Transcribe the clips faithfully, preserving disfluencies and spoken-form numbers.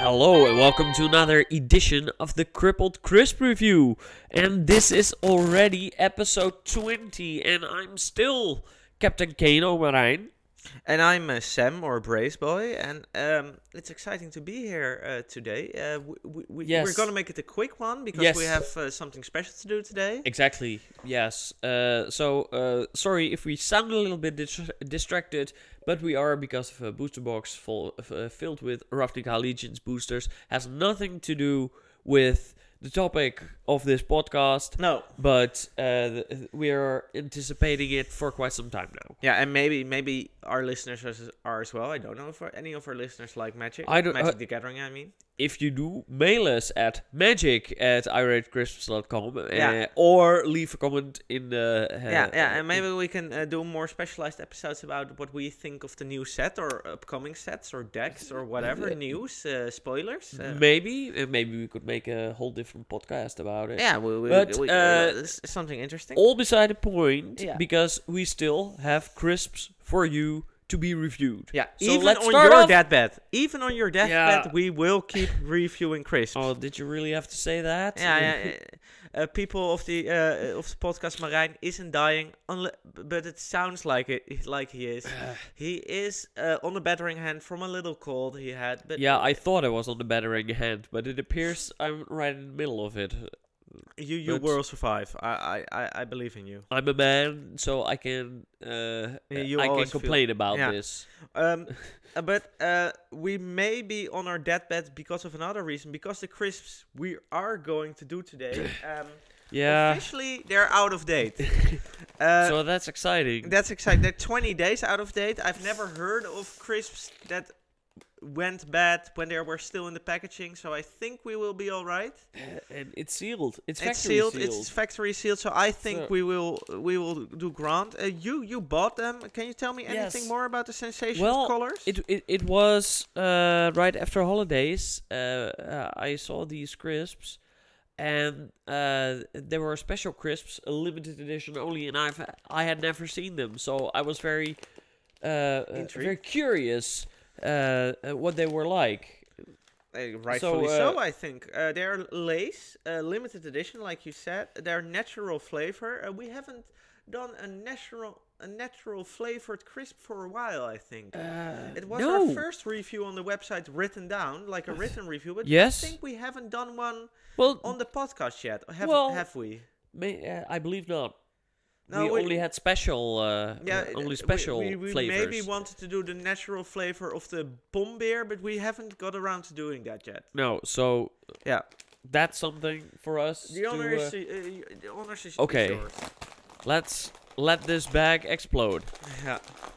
Hello and welcome to another edition of the Crippled Crisp Review. And this is already episode twenty and I'm still Captain Kane O'Marijn. And I'm uh, Sam, or Brace Boy, and um, it's exciting to be here uh, today. Uh, we, we, Yes. We're going to make it a quick one, because Yes. we have uh, something special to do today. Exactly, yes. Uh, so, uh, sorry if we sound a little bit dis- distracted, but we are because of a booster box full, uh, filled with Ravnica Legion's boosters. Has nothing to do with the topic of this podcast, No. but uh, th- we are anticipating it for quite some time now. Yeah, and maybe maybe our listeners as- are as well. I don't know if our, any of our listeners like Magic. I don't- Magic uh, the Gathering, I mean. If you do, mail us at magic at iratecrisps dot com uh, Yeah. or leave a comment in the... Uh, yeah, yeah, and maybe we can uh, do more specialized episodes about what we think of the new set, or upcoming sets, or decks, or whatever, news, uh, spoilers. Uh, Maybe, uh, maybe we could make a whole different podcast about it. yeah, we, we, But, we, uh, uh, this is something interesting. All beside the point, Yeah. because we still have crisps for you to be reviewed. Yeah, So even let's on start your off- deathbed, even on your deathbed, Yeah. we will keep reviewing crisps. Oh, did you really have to say that? yeah, yeah. Uh, people of the uh, of the podcast, Marijn isn't dying, unle- but it sounds like it, like he is. He is uh, on the battering hand from a little cold he had. But Yeah, I thought I was on the battering hand, but it appears I'm right in the middle of it. you you but- will survive. I, I, I, I believe in you. I'm a man, so I can uh, You I can always feel- complain about yeah. this. Um, uh, but uh, we may be on our deathbed because of another reason. Because the crisps we are going to do today, um, Yeah, officially they're out of date. uh, so that's exciting. That's exciting. They're twenty days out of date. I've never heard of crisps that went bad when they were still in the packaging, so I think we will be all right. and it's sealed. It's It's factory sealed. sealed. It's factory sealed, so I think So- we will we will do grand. Uh, you you bought them. Can you tell me anything Yes. more about the sensation Well, of colors? It it it was uh, right after holidays. Uh, uh, I saw these crisps, and uh, they were special crisps, a limited edition only, and I've I had never seen them, so I was very uh, uh, very Intrigued. curious uh, uh, what they were like. Uh, rightfully uh, so, I think. Uh, they're Lace, uh, limited edition, like you said. They're natural flavor. Uh, we haven't done a natural a natural flavored crisp for a while, I think. Uh, It was no. our first review on the website written down, like a written review, but Yes. I think we haven't done one Well, on the podcast yet. Have, Well, have we? may, uh, I believe not. No, we, we- only had special, uh, Yeah, uh, uh, only we- special we, we flavors. maybe wanted to do the natural flavor of the bomb beer, but we haven't got around to doing that yet. No, so Yeah, that's something for us. the to, honor uh, is, uh, uh, the honors is, Okay. is yours. Let's let this bag explode. Yeah.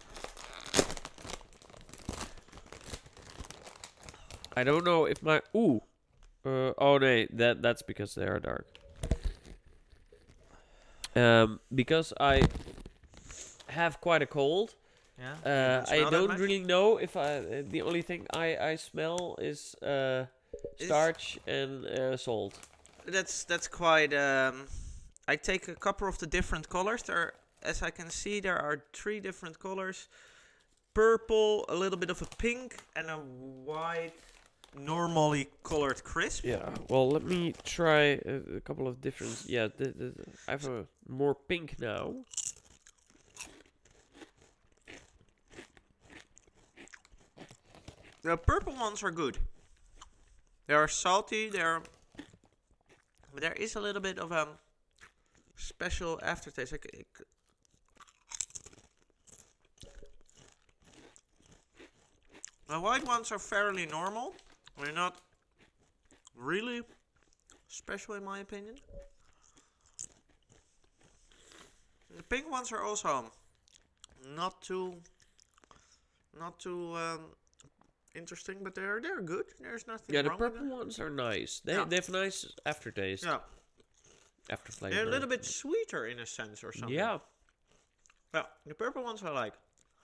I don't know if my ooh, uh, oh no, that that's because they are dark. Um, because I have quite a cold. Yeah. Uh, Don't I smell that don't much? really know if I. Uh, the only thing I I smell is uh, Is- starch and uh, salt. That's that's quite. Um, I take a couple of the different colors. There, as I can see, there are three different colors: purple, a little bit of a pink, and a white, normally colored crisp. Yeah. Well, let me try a, a couple of different. Yeah, the, the, the- I have a more pink now. The purple ones are good. They are salty. They're. But there is a little bit of a special aftertaste. I c- I c- The white ones are fairly normal. They're not really special in my opinion. The pink ones are also not too, not too um, interesting, but they're they're good. There's nothing Yeah, the wrong with purple them. ones are nice. They Yeah. they have nice aftertaste. Yeah, After flavor. they're a little bit sweeter in a sense or something. Yeah, Yeah, the purple ones I like.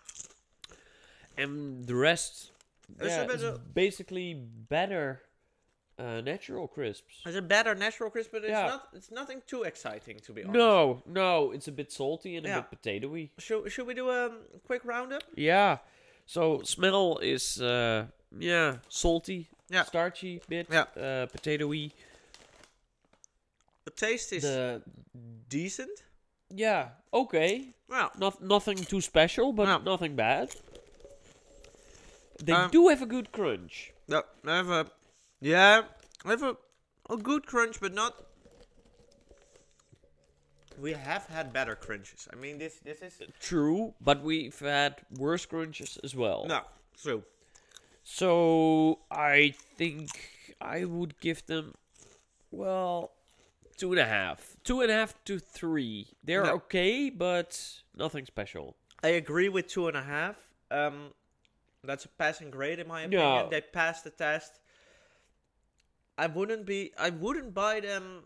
and the rest. It's yeah, a bit it's of- basically better uh, natural crisps. It's a better natural crisp, but it's Yeah. not. It's nothing too exciting to be honest. No, no, it's a bit salty and Yeah. a bit potatoey. Should should we do a quick roundup? Yeah. So smell is uh yeah salty Yeah. starchy bit, Yeah. uh, potatoey. The taste is The decent. yeah, okay. Well, Not nothing too special, but No. nothing bad. They Um, do have a good crunch. no, I have a, yeah, I have a, a good crunch, but not. We have had better crunches. I mean, this this is True, but we've had worse crunches as well. no true. So I think I would give them, well, two and a half, two and a half to three. They're No. okay, but nothing special. I agree with two and a half. Um, that's a passing grade in my opinion. Yeah. They passed the test. I wouldn't be. I wouldn't buy them.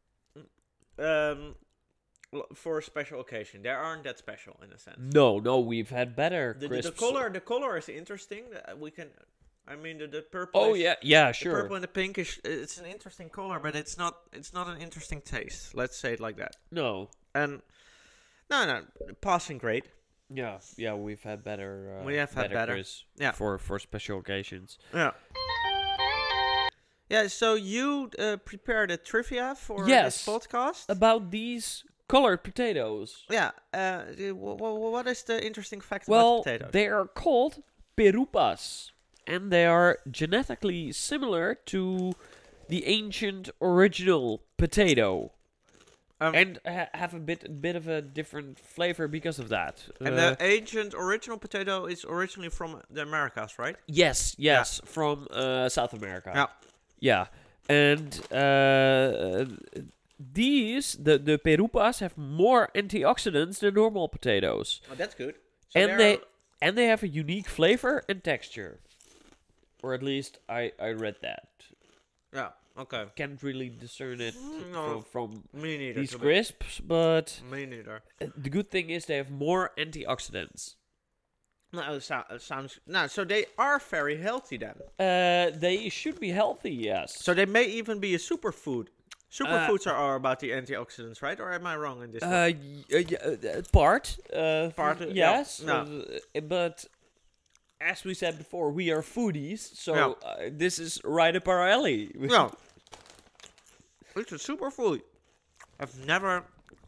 Um, l- for a special occasion, they aren't that special in a sense. No, no, we've had better The, the, crisps. the color, the color is interesting. Uh, We can. I mean, the, the purple. Oh is- yeah, yeah, The sure. purple and the pink is. It's an interesting color, but it's not. It's not an interesting taste. Let's say it like that. No, And no, no, passing grade. yeah, yeah, we've had better. Uh, We have had better. crisps Yeah. for for special occasions. Yeah. Yeah, so you uh, prepared a trivia for Yes. this podcast? About these colored potatoes. yeah. Uh, the- wh- wh- what is the interesting fact Well, about potatoes? they are called perupas, and they are genetically similar to the ancient original potato, Um, and ha- have a bit bit of a different flavor because of that. and Uh, the ancient original potato is originally from the Americas, right? yes, yes, from uh, South America. Yeah. Yeah, and uh, these the the perupas have more antioxidants than normal potatoes, Oh, that's good. So and they're- they and they have a unique flavor and texture, or at least I I read that. Yeah, okay. Can't really discern it No. from, from Me neither. these to be- crisps, but Me neither. uh, the good thing is they have more antioxidants. No, it, sou- it sounds... No, so they are very healthy then. Uh, they should be healthy, yes. So they may even be a superfood. Superfoods Uh, are, are about the antioxidants, right? Or am I wrong in this Uh, one? y- uh, y- uh, part. Uh, Part, f- uh, yeah, yes. no. uh, but as we said before, we are foodies, so Yeah. uh, this is right up our alley. No. It's a superfood. I've never...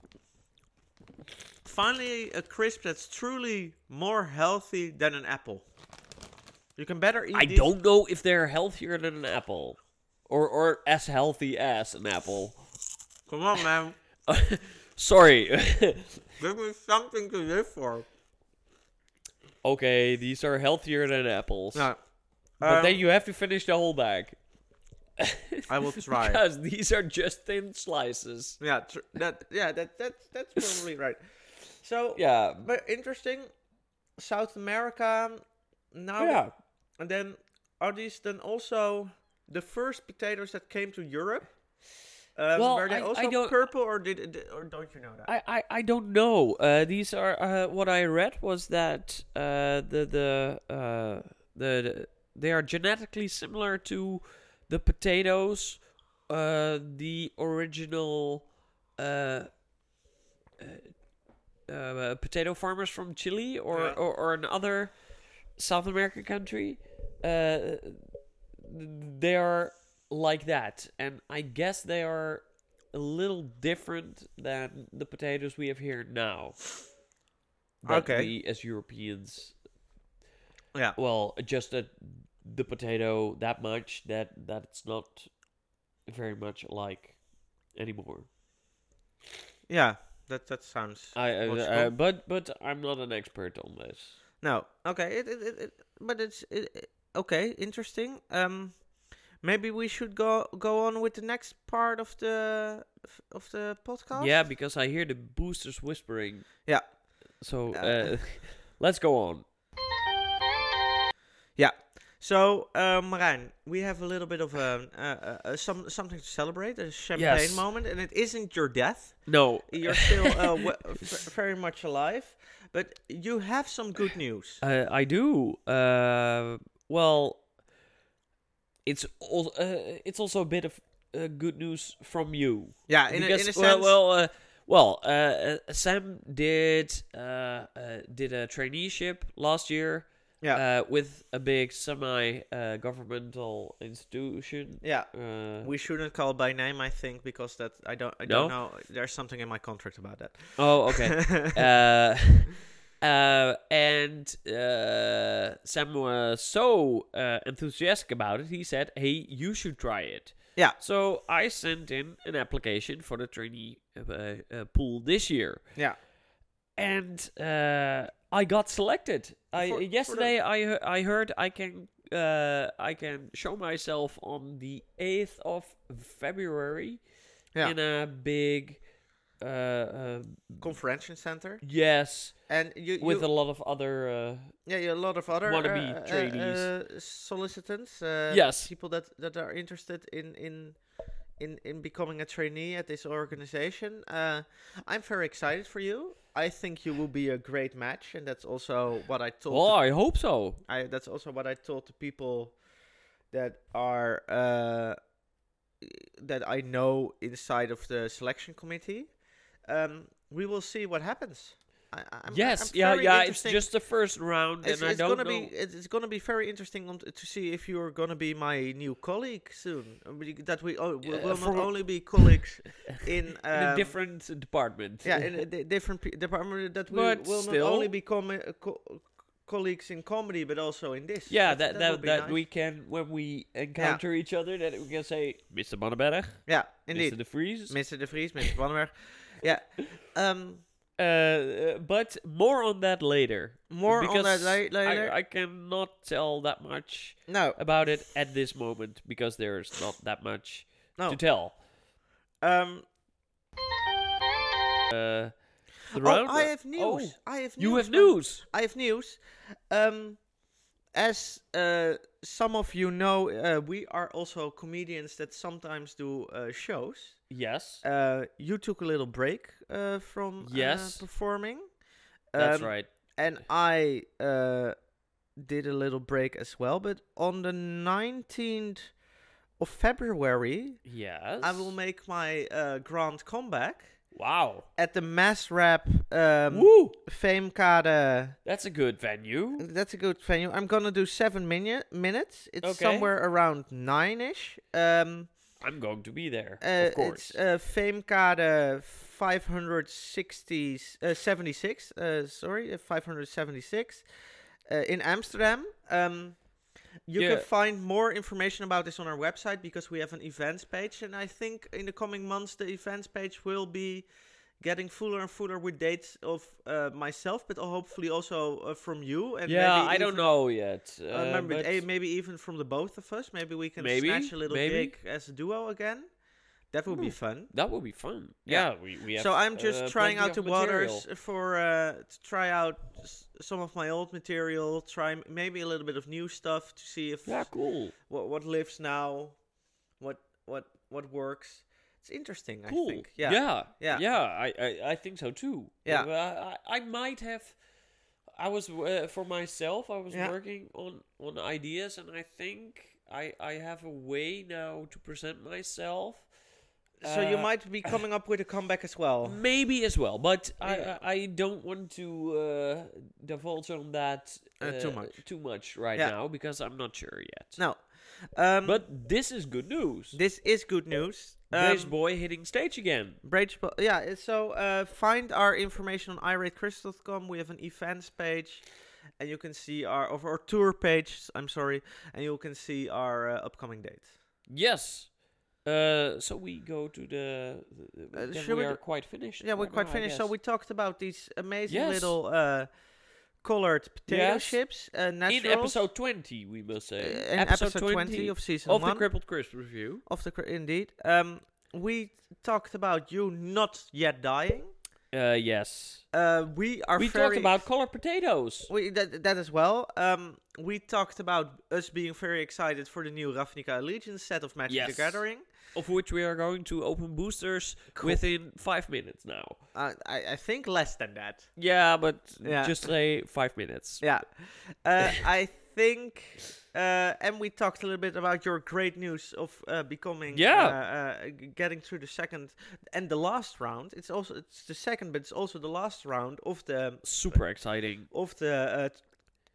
Finally, a crisp that's truly more healthy than an apple. You can better eat I these- don't know if they're healthier than an apple, or or as healthy as an apple. Come on, man. Sorry. Give me something to live for. Okay, these are healthier than apples, No. but Um, then you have to finish the whole bag. I will try. Because these are just thin slices. Yeah, tr- that yeah, that that's that's probably right. So Yeah. but interesting. South America now, Yeah. and then are these then also the first potatoes that came to Europe? Um, Well, were they I- I also don't- purple, or did, did or don't you know that? I, I, I don't know. Uh, these are uh, what I read was that uh, the the, uh, the the they are genetically similar to the potatoes, uh, the original uh, uh, uh, potato farmers from Chile or, Yeah. or, or another South American country. Uh, they are like that, and I guess they are a little different than the potatoes we have here now. That Okay. we as Europeans, yeah. well, adjusted the potato that much that that it's not very much alike anymore. Yeah. That that sounds. I, uh, logical. uh, but but I'm not an expert on this. No. Okay. It, it, it, it but it's it, it- okay. Interesting. Um, maybe we should go go on with the next part of the of the podcast. Yeah, because I hear the boosters whispering. Yeah. So Uh, uh, let's go on. Yeah. So, uh, Marijn, we have a little bit of a, uh, uh, uh, some something to celebrate, a champagne Yes. moment, and it isn't your death. No, You're still uh, w- f- very much alive, but you have some good news. Uh, I do. Uh, well, it's al- uh, it's also a bit of uh, good news from you. Yeah, in a, because in a sense. well, well, uh, well, uh, uh, Sam did uh, uh, did a traineeship last year Yeah. Uh, with a big semi-governmental institution. Yeah. Uh, We shouldn't call it by name, I think, because that I don't I No? don't know. There's something in my contract about that. oh, okay. uh, uh, and uh, Sam was so uh, enthusiastic about it. He said, "Hey, you should try it." Yeah. So I sent in an application for the trainee uh, uh, pool this year, Yeah. and uh, I got selected. I For- for yesterday I he- I heard I can uh, I can show myself on the eighth of February Yeah. in a big uh, uh, Conference center, yes. and you, With you a lot of other uh, yeah, yeah, a lot of other wannabe uh, uh, trainees. uh, solicitants. Uh, Yes. people that that are interested in in. In, in becoming a trainee at this organization. Uh, I'm very excited for you. I think you will be a great match, and that's also what I told. well, the I hope so. I that's also what I told the people that are uh, that I know inside of the selection committee. Um, we will see what happens. I, I'm, Yes, I'm yeah, very yeah. It's interesting- just the first round, It's, and I it's don't gonna know. be it's, it's gonna be very interesting on t- to see if you're gonna be my new colleague soon. Uh, we- That we oh, we Uh, will for- not only be colleagues in in a um, different department. yeah in a di- different pe- department, that we But will still- not only become uh, co- colleagues in comedy but also in this. yeah, That- that that that would be that nice. we can when we encounter each other, that we can say, Mister Bonnenberg, Yeah, Mister indeed. De Vries. Mister De Vries, Mister Bannenberg. Yeah. Um, Uh, uh, but more on that later. more on that because la- later. I, I cannot tell that much no, about it at this moment because there's not that much no. to tell. Um, Uh, the oh, round. I have news. Oh, I have news. you have man. news. I have news. Um, as uh, some of you know, uh, we are also comedians that sometimes do uh, shows. Yes, Uh, you took a little break uh, from Yes. uh, performing. that's Um, right. And I uh, did a little break as well. But on the nineteenth of February, Yes. I will make my uh, grand comeback Wow. at the Mass Rap um, Woo! Famekade. That's a good venue. That's a good venue. I'm gonna do seven minu- minutes. It's Okay. somewhere around nine-ish. Um, I'm going to be there, uh, of course. It's uh, Famekade five hundred sixty, uh, seventy-six. Uh, sorry, uh, five hundred seventy-six uh, in Amsterdam. Um, you Yeah. can find more information about this on our website because we have an events page, and I think in the coming months the events page will be getting fuller and fuller with dates of uh, myself, but hopefully also uh, from you. And yeah, maybe I don't even- know yet. Uh, Uh, remember, but eh, maybe even from the both of us. Maybe we can Maybe, snatch a little maybe. gig as a duo again. That would be Hmm. fun. that would be fun. Yeah. Yeah, we, we have. So I'm just uh, trying plenty out the of material. waters for uh, to try out s- some of my old material. Try m- maybe a little bit of new stuff to see if Yeah, cool. what what lives now, what what what works. It's interesting. Cool. I think. Yeah. Yeah. Yeah. Yeah, I, I, I think so too. Yeah. Uh, I, I might have. I was uh, for myself. I was Yeah. working on on ideas, and I think I I have a way now to present myself. So you Uh, might be coming up with a comeback as well. Maybe as well, but I Yeah. I, I don't want to uh, divulge on that Uh, too much. too much right Yeah. now because I'm not sure yet. No. Um, But this is good news. this is good news. Brace Um, boy hitting stage again. Brage, Bo- yeah. uh, So uh, find our information on irate chris dot com. We have an events page, and you can see our of our tour page. I'm sorry, and you can see our uh, upcoming dates. Yes. Uh, so we go to the. the, the Uh, then should we we are do- quite finished. Yeah, we're right quite now, I finished. So guess. we talked about these amazing Yes. little uh, colored potato Yes. chips, uh, naturals. in episode twenty, we must uh, say. in episode twenty of season of the one Crippled Crisp review. of the cr- indeed. Um, we talked about you not yet dying. Uh, yes. Uh, we are we very talked about colored potatoes. We that, that as well. Um, we talked about us being very excited for the new Ravnica Allegiance set of Magic Yes. the Gathering. Of which we are going to open boosters Cool. within five minutes now. Uh, I, I think less than that. Yeah, but Yeah. just say five minutes. Yeah. Uh, I think, uh, and we talked a little bit about your great news of uh, becoming, Yeah. uh, uh, g- getting through the second and the last round. It's also it's the second, but it's also the last round of the Super exciting. of the uh,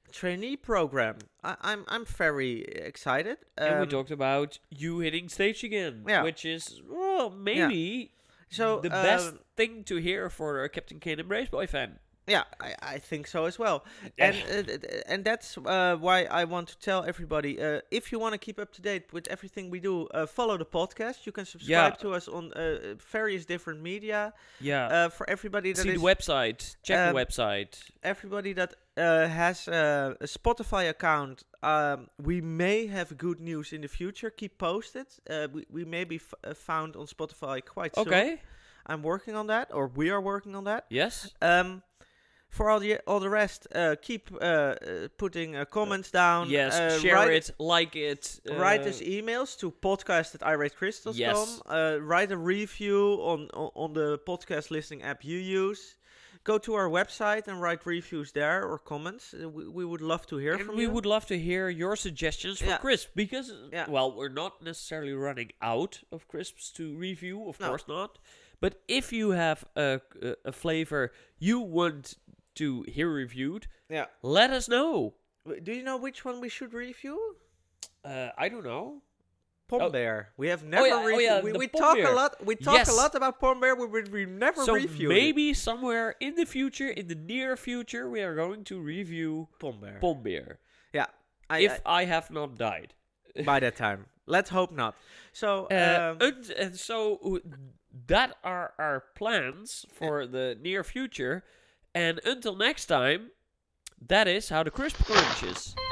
trainee program. I, I'm I'm very excited. And we Um, talked about you hitting stage again, Yeah. which is, well, maybe So the best um, thing to hear for a Captain Kane Embrace Boy fan. Yeah, I, I think so as well, Yeah. and uh, th- th- and that's uh, why I want to tell everybody. Uh, if you want to keep up to date with everything we do, uh, follow the podcast. You can subscribe Yeah. to us on uh, various different media. Yeah. Uh, for everybody that See is the website. Check um, the website. everybody that uh, has uh, a Spotify account, um, we may have good news in the future. Keep posted. Uh, we we may be f- uh, found on Spotify quite soon. Okay. I'm working on that, or we are working on that. Yes. Um, for all the all the rest, uh, keep uh, uh, putting uh, comments down. Yes. uh, Share write, it. Like it. Write uh, us emails to podcast at iratecrystals dot com. Yes. Uh, write a review on, on on the podcast listening app you use. Go to our website and write reviews there or comments. Uh, we, we would love to hear And from we you. would love to hear your suggestions for Yeah. crisp because, Yeah. well, we're not necessarily running out of crisps to review, of No. course not. But if you have a, a, a flavor you want to hear reviewed, Yeah. let us know. W- Do you know which one we should review? Uh, I don't know. Pom Oh. Bear. We have never yeah, oh reviewed. yeah, we the we Pom talk Bear. a lot. We talk Yes. a lot about Pom Bear. We we, we never So reviewed it. maybe somewhere in the future, in the near future, we are going to review Pom Bear. Pom Beer. Yeah. I, If I have not died. I- by that time, let's hope not. So Uh, um, and, and so uh, that are our plans for the near future. And until next time, that is how the crisp crunches.